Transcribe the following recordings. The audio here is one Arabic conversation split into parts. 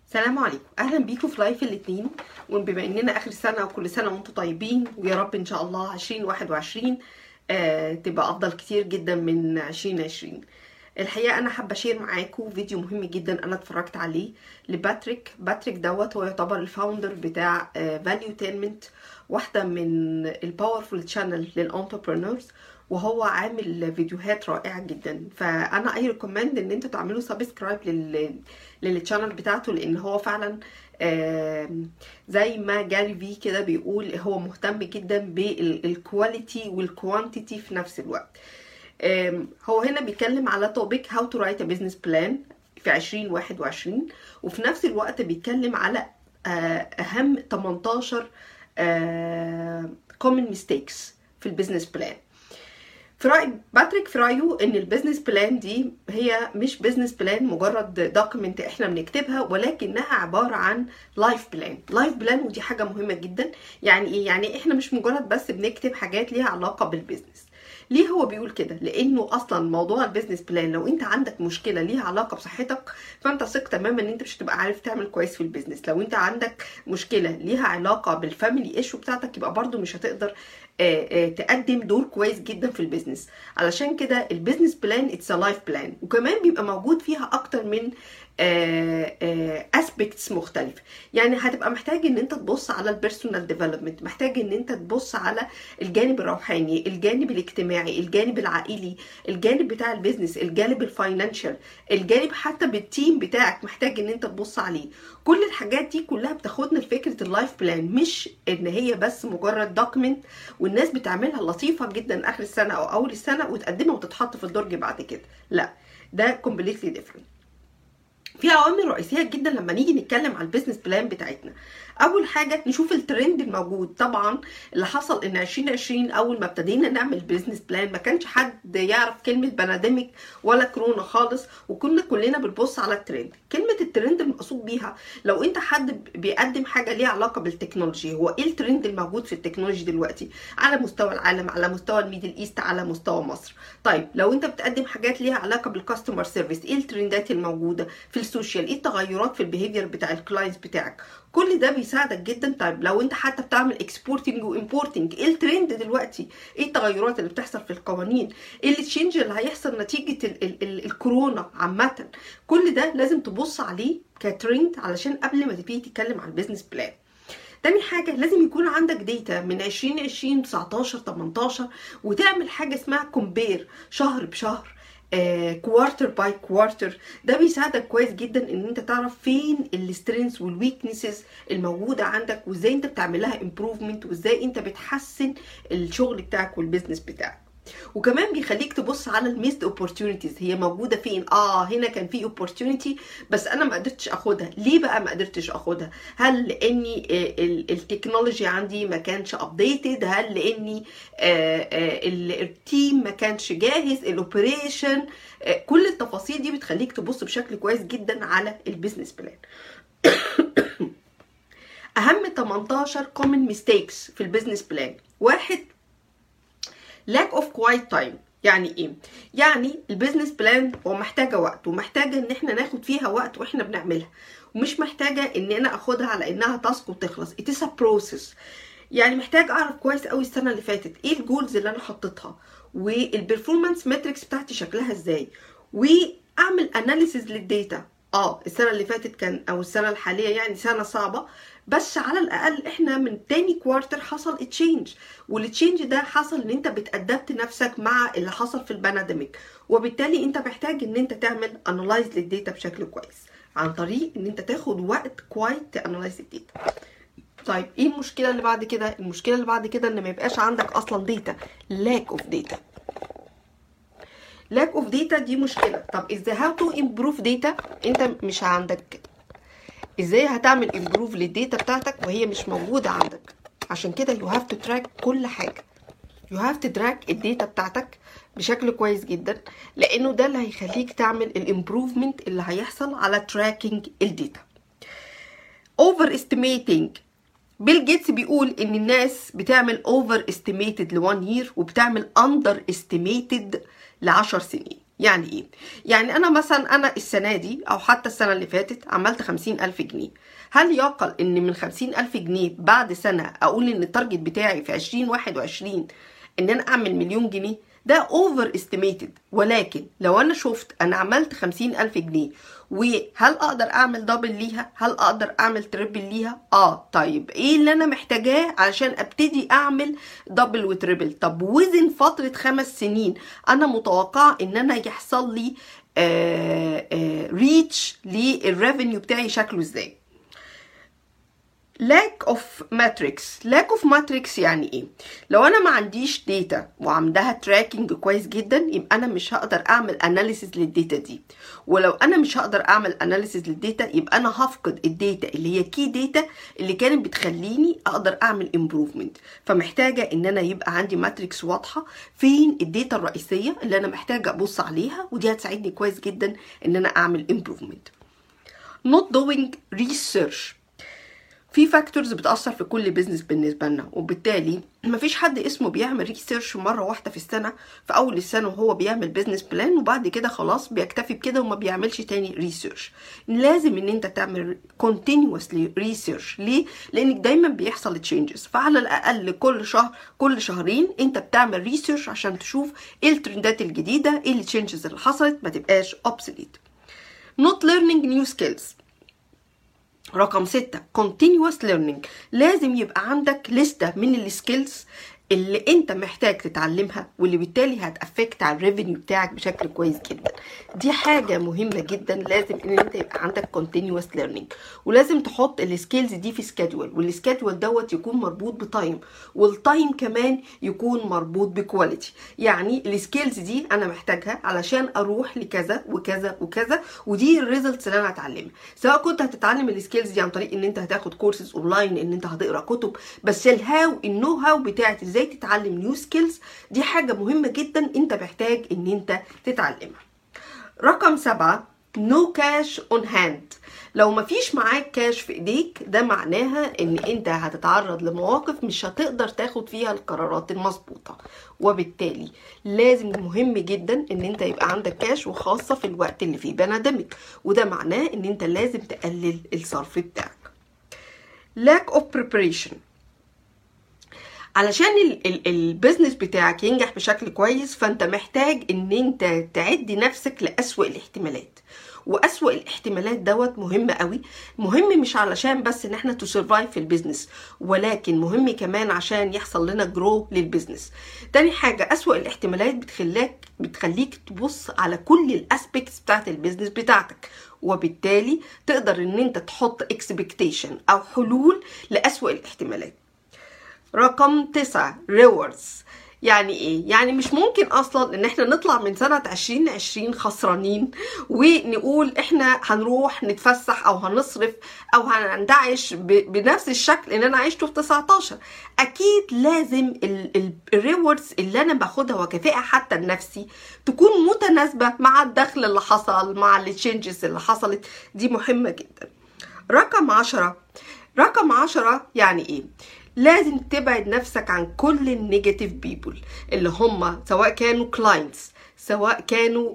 السلام عليكم، اهلا بيكم في لايف الاثنين. وبما اننا اخر السنه وكل سنه وانتم طيبين، ويا رب ان شاء الله 2021 تبقى افضل كتير جدا من 2020. الحقيقه انا حابه اشير معاكم فيديو مهم جدا انا اتفرجت عليه لباتريك. دوت هو يعتبر الفاوندر بتاع فاليو تينمنت، واحده من الباورفول تشانل للانتربرينورز، وهو عامل فيديوهات رائعه جدا. فانا اي ريكومند ان انتوا تعملوا سبسكرايب للتشانل بتاعته، لان هو فعلا زي ما جاري في كده بيقول هو مهتم جدا بالكواليتي والكوانتيتي في نفس الوقت. هو هنا بيتكلم على توبيك هاو تو رايت ا بزنس بلان في 2021، وفي نفس الوقت بيتكلم على اهم 18 common mistakes في البيزنس بلان. في رأي باتريك، في رأيه ان البيزنس بلان دي هي مش بيزنس بلان مجرد دوكيمنت احنا بنكتبها، ولكنها عبارة عن لايف بلان. ودي حاجة مهمة جدا. يعني ايه؟ يعني احنا مش مجرد بس بنكتب حاجات ليها علاقة بالبيزنس. ليه هو بيقول كده؟ لانه اصلا موضوع البيزنس بلان لو انت عندك مشكله ليها علاقه بصحتك، فانت ثق تماما ان انت مش هتبقى عارف تعمل كويس في البيزنس. لو انت عندك مشكله ليها علاقه بالفاميلي ايشو بتاعتك، يبقى برضو مش هتقدر تقدم دور كويس جدا في البيزنس. علشان كده البيزنس بلان اتس لايف بلان، وكمان بيبقى موجود فيها اكتر من اسبيكتس مختلفه. يعني هتبقى محتاج ان انت تبص على البيرسونال ديفلوبمنت، محتاج ان انت تبص على الجانب الروحاني، الجانب الاجتماعي، الجانب العائلي، الجانب بتاع البيزنس، الجانب الفاينانشال، الجانب حتى بالتيم بتاعك محتاج ان انت تبص عليه. كل الحاجات دي كلها بتاخدنا لفكره اللايف بلان، مش ان هي بس مجرد دوكيمنت والناس بتعملها لطيفه جدا اخر السنه او اول السنه وتقدمها وتتحط في الدرج بعد كده. لا، ده كومبليتلي ديفرنت. في عوامل رئيسيه جدا لما نيجي نتكلم على البيزنس بلان بتاعتنا. اول حاجه نشوف الترند الموجود. طبعا اللي حصل ان 2020 اول ما ابتدينا نعمل بيزنس بلان ما كانش حد يعرف كلمه بانديميك ولا كورونا خالص، وكنا كلنا بنبص على الترند. كلمه الترند المقصود بيها لو انت حد بيقدم حاجه ليها علاقه بالتكنولوجي، هو ايه الترند الموجود في التكنولوجي دلوقتي على مستوى العالم، على مستوى الميدل ايست، على مستوى مصر. طيب لو انت بتقدم حاجات ليها علاقه بالكاستمر سيرفيس، ايه الترندات الموجوده في السوشيال، ايه التغيرات في البيهيفير بتاع الكلاينتس بتاعك. كل ده بيساعدك جدا. طيب لو انت حتى بتعمل اكسبورتنج وامبورتنج، ايه الترند دلوقتي، ايه التغيرات اللي بتحصل في القوانين، ايه التشينج اللي هيحصل نتيجه الكورونا عامه. كل ده لازم تبص عليه كترند علشان قبل ما تبتدي تتكلم عن البيزنس بلان. تاني حاجة لازم يكون عندك ديتا من 2020 19 18 وتعمل حاجة اسمها كومبير شهر بشهر، كوارتر باي كوارتر. ده بيساعدك كويس جدا ان انت تعرف فين السترينثs والويكنسز الموجودة عندك، وازاي انت بتعملها امبروفمنت، وازاي انت بتحسن الشغل بتاعك والبيزنس بتاعك. وكمان بيخليك تبص على الميسد اوبورتيونيتيز، هي موجوده فين. هنا كان في اوبورتيونيتي بس انا ما قدرتش اخدها. ليه بقى ما قدرتش اخدها؟ هل لاني التكنولوجي عندي ما كانش ابديتد؟ هل لاني التيم ما كانش جاهز؟ الاوبريشن؟ كل التفاصيل دي بتخليك تبص بشكل كويس جدا على البيزنس بلان. اهم 18 common mistakes في البيزنس بلان. واحد، lack of quiet time. يعني ايه؟ يعني البيزنس بلان هو محتاجه وقت، ومحتاجه ان احنا ناخد فيها وقت واحنا بنعملها، ومش محتاجه ان انا اخدها على انها تاسك وتخلص. it is a process. يعني محتاج اعرف كويس قوي السنه اللي فاتت ايه الجولز اللي انا حطيتها، والبرفورمانس ماتريكس بتاعتي شكلها ازاي، واعمل اناليسيز للديتا. السنه اللي فاتت كان او السنه الحاليه يعني سنه صعبه، بس على الاقل احنا من تاني كوارتر حصل تشينج، والتشينج ده حصل ان انت بتأدبت نفسك مع اللي حصل في البانديميك، وبالتالي انت محتاج ان انت تعمل انالايز للديتا بشكل كويس عن طريق ان انت تاخد وقت كويس تانالايز الديتا. طيب ايه المشكله اللي بعد كده؟ المشكله اللي بعد كده ان ما يبقاش عندك اصلا ديتا. lack of data دي مشكله. طب ازاي how to improve data؟ انت مش عندك. ازاي هتعمل امبروف للديتا بتاعتك وهي مش موجوده عندك؟ عشان كده you have to track كل حاجه. you have to track الديتا بتاعتك بشكل كويس جدا، لانه ده اللي هيخليك تعمل الامبروفمنت اللي هيحصل على تراكنج الديتا. over estimating. بيل جيتس بيقول ان الناس بتعمل over estimated ل1 year وبتعمل under estimated ل10 سنين. يعني ايه؟ يعني انا مثلا انا السنة دي او حتى السنة اللي فاتت عملت 50,000 جنيه. هل يعقل ان من 50,000 جنيه بعد سنة اقول ان التارجت بتاعي في 2021 ان انا اعمل 1,000,000 جنيه؟ ده اوفر استيميتد. ولكن لو انا شفت انا عملت 50,000 جنيه وهل اقدر اعمل دبل ليها؟ هل اقدر اعمل تريبل ليها؟ طيب ايه اللي انا محتاجاه علشان ابتدي اعمل دبل وتريبل؟ طب وزن فترة 5 سنين انا متوقعة ان انا يحصل لي ريتش للريفينيو بتاعي شكله ازاي؟ lack of matrix يعني ايه؟ لو انا ما عنديش داتا وعندها تراكنج كويس جدا يبقى انا مش هقدر اعمل اناليسيز للداتا دي. ولو انا مش هقدر اعمل اناليسيز للداتا يبقى انا هفقد الداتا اللي هي كي داتا اللي كانت بتخليني اقدر اعمل امبروفمنت. فمحتاجه ان انا يبقى عندي ماتريكس واضحه فين الداتا الرئيسيه اللي انا محتاجه ابص عليها، ودي هتساعدني كويس جدا ان انا اعمل امبروفمنت. not doing research. في فاكتورز بتأثر في كل بيزنس بالنسبة لنا، وبالتالي مفيش حد اسمه بيعمل ريسيرش مرة واحدة في السنة في أول السنة وهو بيعمل بيزنس بلان وبعد كده خلاص بيكتفي بكده وما بيعملش تاني ريسيرش. لازم ان انت تعمل continuously ريسيرش. ليه؟ لانك دايما بيحصل تشينجز، فعلى الأقل كل شهر كل شهرين انت بتعمل ريسيرش عشان تشوف ايه الترندات الجديدة، ايه التشينجز اللي حصلت، ما تبقاش obsolete. not learning new skills. رقم 6 continuous learning. لازم يبقى عندك لستة من السكيلز اللي انت محتاج تتعلمها واللي بالتالي هتأفكت على الريفينيو بتاعك بشكل كويس جدا. دي حاجة مهمة جدا، لازم ان انت يبقى عندك continuous learning. ولازم تحط السكيلز دي في سكادول، والسكادول دوت يكون مربوط بتايم، والتايم كمان يكون مربوط بكواليتي. يعني السكيلز دي انا محتاجها علشان اروح لكذا وكذا وكذا، ودي الريزلتس اللي انا هتعلمها. سواء كنت هتتعلم السكيلز دي عن طريق ان انت هتاخد كورسز اونلاين، ان انت هتقرا كتب، بس النو هاو بتاعت ازاي تتعلم نيو سكيلز دي حاجة مهمة جدا انت محتاج ان انت تتعلمها. رقم 7 no cash on hand. لو مفيش معاك كاش في ايديك ده معناها ان انت هتتعرض لمواقف مش هتقدر تاخد فيها القرارات المظبوطة، وبالتالي لازم مهم جدا ان انت يبقى عندك كاش، وخاصة في الوقت اللي فيه بانديميك، وده معناه ان انت لازم تقلل الصرف بتاعك. lack of preparation. علشان البيزنس بتاعك ينجح بشكل كويس فانت محتاج ان انت تعدي نفسك لأسوأ الاحتمالات، وأسوأ الاحتمالات دوت مهم قوي. مهم مش علشان بس ان احنا تسرفايف في البيزنس، ولكن مهم كمان عشان يحصل لنا جرو للبيزنس. تاني حاجة أسوأ الاحتمالات بتخليك تبص على كل الاسبيكتس بتاعت البيزنس بتاعتك، وبالتالي تقدر ان انت تحط اكسبكتيشن او حلول لأسوأ الاحتمالات. رقم 9 rewards. يعني ايه؟ يعني مش ممكن اصلا ان احنا نطلع من سنة 2020 خسرانين ونقول احنا هنروح نتفسح او هنصرف او هننتعش بنفس الشكل اللي انا عشته في 19. اكيد لازم الريوردز اللي انا باخدها وكافئة حتى لنفسي تكون متناسبة مع الدخل اللي حصل، مع التشينجز اللي حصلت. دي مهمة جدا. رقم 10 يعني ايه؟ لازم تبعد نفسك عن كل النيجاتيف بيبل اللي هم سواء كانوا كلاينتس، سواء كانوا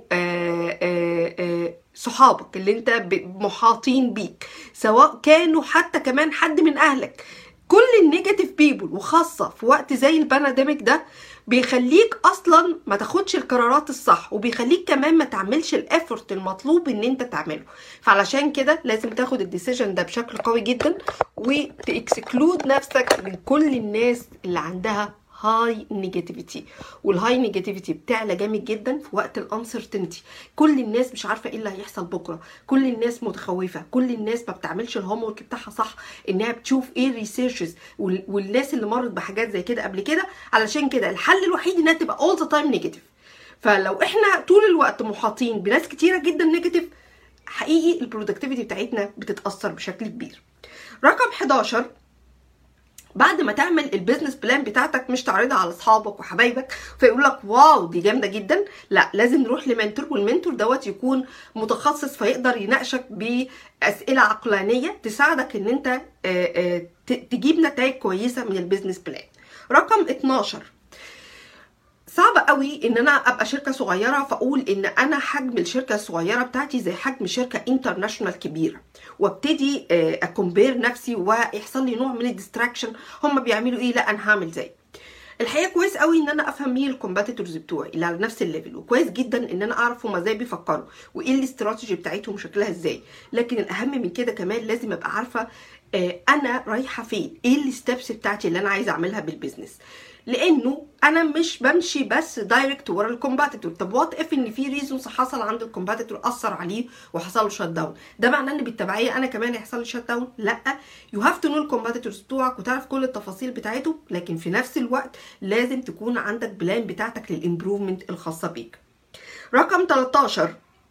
صحابك اللي انت محاطين بيك، سواء كانوا حتى كمان حد من اهلك. كل النيجاتيف بيبل وخاصة في وقت زي البانديميك ده بيخليك اصلا ما تاخدش القرارات الصح، وبيخليك كمان ما تعملش الافورت المطلوب ان انت تعمله. فعلشان كده لازم تاخد الديسيجن ده بشكل قوي جدا، وتكسكلود نفسك من كل الناس اللي عندها هاي نيجاتيفيتي. والهاي نيجاتيفيتي بتعلى جامد جدا في وقت الانسرتينتي. كل الناس مش عارفه ايه اللي هيحصل بكره، كل الناس متخوفه، كل الناس ما بتعملش الهوم ورك بتاعها صح، انها بتشوف ايه الريسيرشز والناس اللي مرت بحاجات زي كده قبل كده. علشان كده الحل الوحيد انها تبقى all the time نيجاتيف. فلو احنا طول الوقت محاطين بناس كتيره جدا نيجاتيف، حقيقي البرودكتيفيتي بتاعتنا بتتاثر بشكل كبير. رقم 11 بعد ما تعمل البيزنس بلان بتاعتك مش تعرضها على اصحابك وحبايبك فيقول لك واو دي جامده جدا، لا لازم نروح لمنتور، والمنتور دوت يكون متخصص فيقدر يناقشك باسئله عقلانيه تساعدك ان انت تجيب نتائج كويسه من البيزنس بلان. رقم 12 صعب قوي ان انا ابقى شركه صغيره فاقول ان انا حجم الشركه الصغيره بتاعتي زي حجم شركه انترناشونال كبيره، وابتدي اكمبير نفسي ويحصل لي نوع من الديستراكشن. هم بيعملوا ايه؟ لا انا هعمل زي. الحقيقه كويس قوي ان انا افهم مين الكومبيتيتورز بتوعي اللي على نفس الليفل، وكويس جدا ان انا اعرف هم ازاي بيفكروا وايه الاستراتيجي بتاعتهم شكلها ازاي. لكن الاهم من كده كمان لازم ابقى عارفه انا رايحه فين، ايه الستبس بتاعتي اللي انا عايزه اعملها بالبيزنس. لانه انا مش بمشي بس دايركت ورا الكومباتيتور. طب وات اف ان في ريزونز حصل عند الكومباتيتور اثر عليه وحصل له شات داون، ده معناه ان بالتبعيه انا كمان يحصل لي شات داون؟ لا، يو هاف تو نو الكومباتيتورز بتوعك وتعرف كل التفاصيل بتاعتهم، لكن في نفس الوقت لازم تكون عندك بلان بتاعتك للامبروفمنت الخاصه بيك. رقم 13،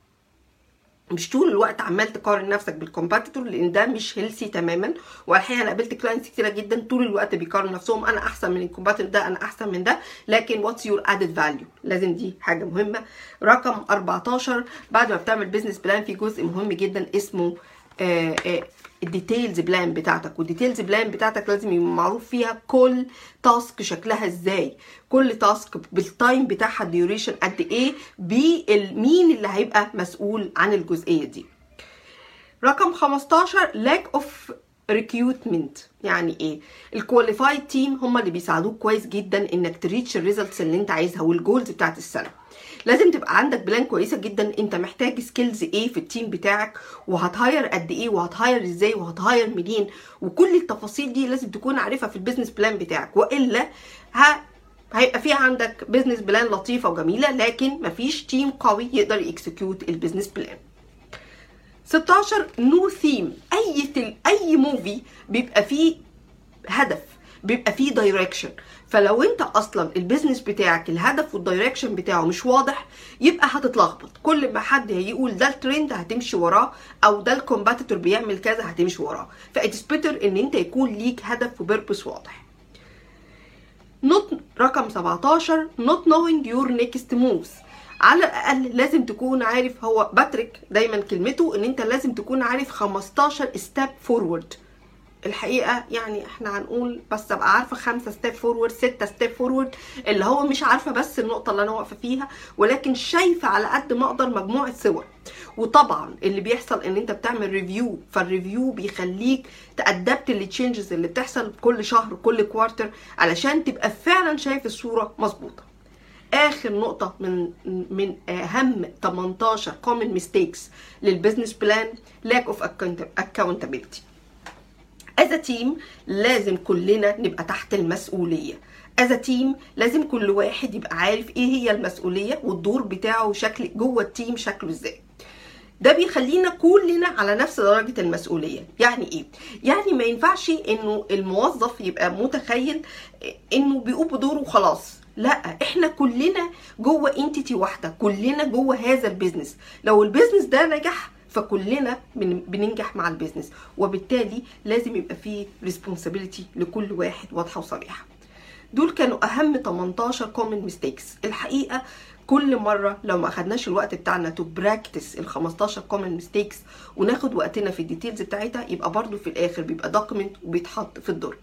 مش طول الوقت عمال تقارن نفسك بالكومباتيتور، لان ده مش هيلثي تماما. والحقيقه انا قابلت كلاينتس كتيره جدا طول الوقت بيقارنوا نفسهم، انا احسن من الكومباتيتور ده، انا احسن من ده، لكن واتس يور ادد فاليو، لازم دي حاجه مهمه. رقم 14، بعد ما بتعمل بزنس بلان في جزء مهم جدا اسمه الديتيلز بلان بتاعتك. والديتيلز بلان بتاعتك لازم يبقى معروف فيها كل تاسك شكلها ازاي، كل تاسك بالتايم بتاعها، الديوريشن قد ايه، مين اللي هيبقى مسؤول عن الجزئيه دي. رقم 15، lack of recruitment. يعني ايه؟ الكواليفايد تيم هم اللي بيساعدوك كويس جدا انك تريتش الريزلتس اللي انت عايزها والجولز بتاعت السنه. لازم تبقى عندك بلان كويسه جدا، انت محتاج سكيلز ايه في التيم بتاعك، وهتهاير قد ايه، وهتهاير ازاي، وهتهاير منين، وكل التفاصيل دي لازم تكون عارفها في البيزنس بلان بتاعك، والا هيبقى فيها عندك بيزنس بلان لطيفه وجميله لكن مفيش تيم قوي يقدر يكسكيوت البيزنس بلان. 16، نو ثيم. اي موفي بيبقى فيه هدف، بيبقى فيه دايركشن. فلو انت اصلا البيزنس بتاعك الهدف والدايركشن بتاعه مش واضح، يبقى هتتلخبط. كل ما حد هيقول ده الترند هتمشي وراه، او ده الكومباتيتور بيعمل كذا هتمشي وراه. فإتس بيتر ان انت يكون ليك هدف وبيربس واضح. رقم 17، not knowing your next moves. على الاقل لازم تكون عارف، هو باتريك دايما كلمته ان انت لازم تكون عارف 15 ستيب فورورد. الحقيقه يعني احنا هنقول بس ابقى عارفه 5 ستيب فورورد، 6 ستيب فورورد، اللي هو مش عارفه بس النقطه اللي انا واقفه فيها، ولكن شايفه على قد ما اقدر مجموعه صور. وطبعا اللي بيحصل ان انت بتعمل ريفيو، فالريفيو بيخليك تأدبت للتشينجز اللي بتحصل كل شهر كل كوارتر علشان تبقى فعلا شايف الصوره مظبوطه. اخر نقطه من اهم 18 common mistakes للبزنس بلان، lack of accountability. as a team لازم كلنا نبقى تحت المسؤوليه. as a team لازم كل واحد يبقى عارف ايه هي المسؤوليه والدور بتاعه شكل جوه التيم شكله ازاي. ده بيخلينا كلنا على نفس درجه المسؤوليه. يعني ايه؟ يعني ما ينفعش انه الموظف يبقى متخيل انه بيقوم بدوره وخلاص. لا، احنا كلنا جوه انتيتي واحده، كلنا جوه هذا البيزنس. لو البيزنس ده نجح فكلنا بننجح مع البيزنس، وبالتالي لازم يبقى فيه ريسبونسابيلتي لكل واحد واضحه وصريحه. دول كانوا اهم 18 common mistakes. الحقيقه كل مره لو ما اخدناش الوقت بتاعنا تو براكتس ال 15 common mistakes وناخد وقتنا في الديتيلز بتاعتها، يبقى برضو في الاخر بيبقى دوكيمنت وبيتحط في الدرج.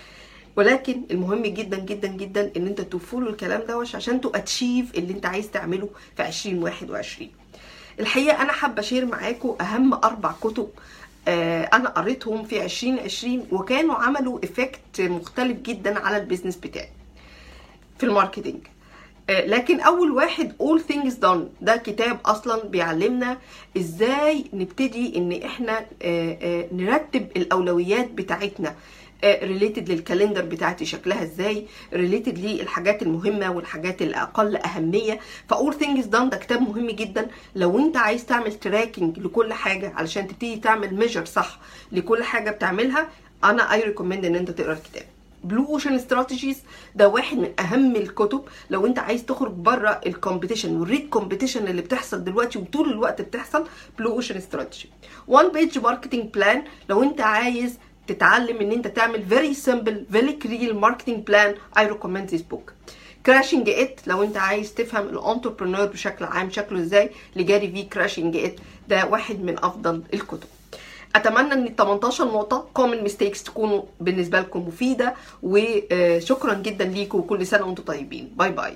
ولكن المهم جدا جدا جدا ان انت تفولو الكلام ده عشان تو اتشيف اللي انت عايز تعمله في 2021. الحقيقه انا حابه اشير معاكم اهم 4 كتب انا قريتهم في 2020 وكانوا عملوا افكت مختلف جدا على البيزنس بتاعي في الماركتينج. لكن اول واحد All Things Done، ده كتاب اصلا بيعلمنا ازاي نبتدي ان احنا نرتب الاولويات بتاعتنا ريليتد للكالندر بتاعتي شكلها ازاي، ريليتد للحاجات المهمه والحاجات الاقل اهميه. فاول ثينجز دان ده كتاب مهم جدا لو انت عايز تعمل تراكنج لكل حاجه علشان تبتدي تعمل ميجر صح لكل حاجه بتعملها. انا اي ريكومند ان انت تقرا الكتاب. بلو اوشن استراتيجيز ده واحد من اهم الكتب لو انت عايز تخرج بره الكومبيتيشن والريت كومبيتيشن اللي بتحصل دلوقتي وطول الوقت بتحصل. بلو اوشن استراتيجي. وان بيج ماركتنج بلان لو انت عايز تتعلم ان انت تعمل very simple very clear marketing plan. I recommend this book. Crashing It لو انت عايز تفهم الانتربرنور بشكل عام شكله ازاي لجاري في. Crashing It ده واحد من افضل الكتب. اتمنى ان ال 18 نقطه common mistakes تكونوا بالنسبه لكم مفيده، وشكرا جدا ليكم وكل سنه وانتم طيبين. باي باي.